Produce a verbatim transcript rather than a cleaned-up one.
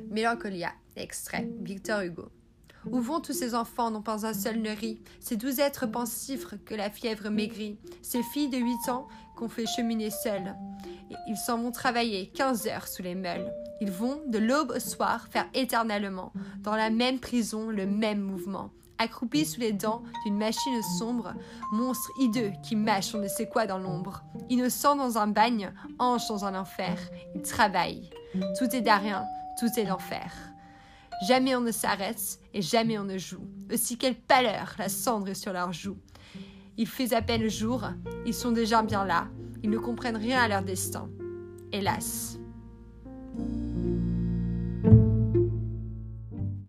Mélancolia, extrait, Victor Hugo. Où vont tous ces enfants dont pas un seul ne rit, ces doux êtres pensifs que la fièvre maigrit, ces filles de huit ans qu'on fait cheminer seules. Ils s'en vont travailler quinze heures sous les meules. Ils vont, de l'aube au soir, faire éternellement, dans la même prison, le même mouvement. Accroupis sous les dents d'une machine sombre, monstre hideux qui mâche on ne sait quoi dans l'ombre. Innocent dans un bagne, ange dans un enfer, ils travaillent. Tout est d'arien, tout est d'enfer. Jamais on ne s'arrête et jamais on ne joue. Aussi quelle pâleur, la cendre est sur leurs joues. Il fait à peine jour, ils sont déjà bien là, ils ne comprennent rien à leur destin. Hélas.